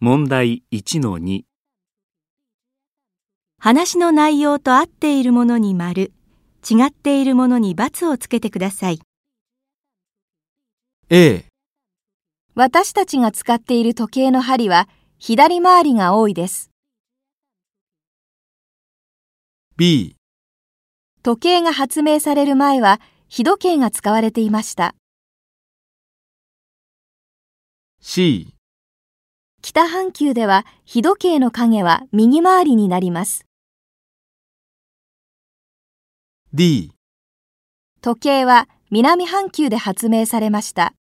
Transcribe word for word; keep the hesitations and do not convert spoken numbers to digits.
問題 いちのに。 話の内容と合っているものに丸、違っているものに×をつけてください。 A、 私たちが使っている時計の針は左回りが多いです。 B、 時計が発明される前は日時計が使われていました。 C、 北半球では日時計の影は右回りになります。 D、 時計は南半球で発明されました。